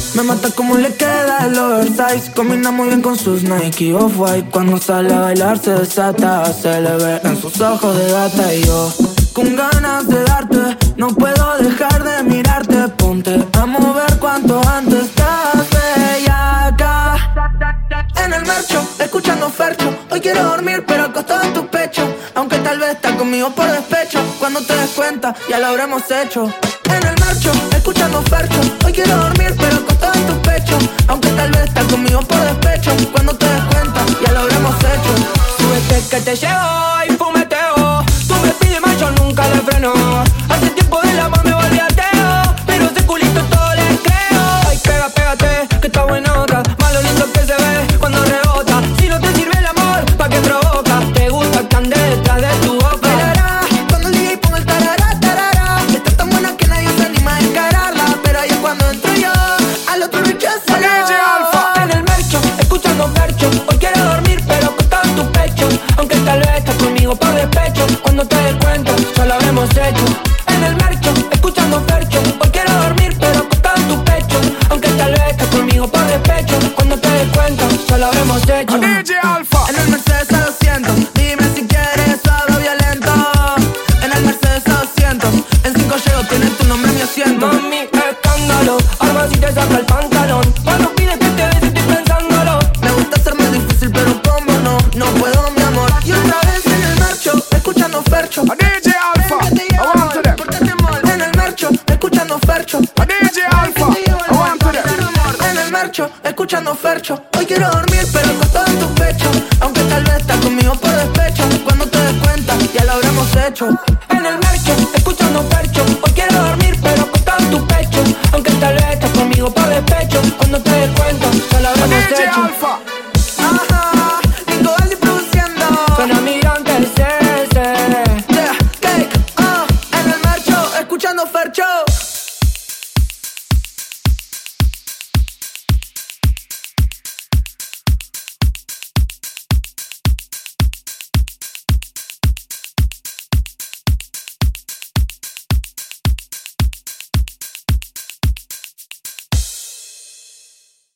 Me mata como le queda el oversize. Combina muy bien con sus Nike Off-White. Cuando sale a bailar se desata. Se le ve en sus ojos de gata. Y yo con ganas de darte, no puedo dejar de mirarte. Ponte a mover cuanto antes. Estás bellaca en el marcho, escuchando Fercho. Hoy quiero dormir pero acostado en tu pecho. Aunque tal vez estás conmigo por despecho. Cuando te des cuenta ya lo habremos hecho. En el marcho, escuchando Fercho. Hoy quiero dormir pero acostado en tu pecho. Aunque tal vez estás conmigo por despecho. Cuando te des cuenta ya lo habremos hecho. Súbete que te llevo y fumeteo. Tú me pides más, yo nunca le freno. Hace tiempo del amor me volví ateo, pero ese culito todo le creo. Ay, pégate, que está buenota. Más lo lindo que se ve cuando rebota. Si no te sirve el amor, ¿pa' qué provoca? Te gusta que ande detrás de tu boca. Tarará, cuando el DJ ponga el tarará, tarará. Está tan buena que nadie se anima a encararla. Pero ahí es cuando entro yo, al otro rechazo. DJ Alfa en el mercho, escuchando Fercho. Hoy quiero dormir pero acostado en tu pecho. Aunque tal vez estás conmigo por despecho. Cuando te des cuenta, ya lo habremos hecho. En el mercho, escuchando Fercho. Hoy quiero dormir pero acostado en tu pecho. Aunque tal vez estás conmigo por despecho. Cuando te des cuenta, ya lo habremos hecho. DJ Alfa. En el Mercedes a 200, dime si quieres suave o violento. En el Mercedes a 200, en 5 llego, tienes tu nombre en mi asiento. Mami, escándalo, arma si te saca el pantalón. Cuando pides que te des estoy pensándolo. Me gusta hacerme difícil, pero como no, no puedo, mi amor. Y otra vez en el marcho, escuchando Fercho. DJ Alfa, I want to them. Pórtate, amor. En el marcho, escuchando Fercho. DJ Alfa, I want to them. En el marcho, escuchando Fercho. Hoy quiero dormir, pero acostado en tu pecho. Aunque tal vez estás conmigo por despecho. Cuando te des cuenta, ya lo habremos hecho. En el mercho,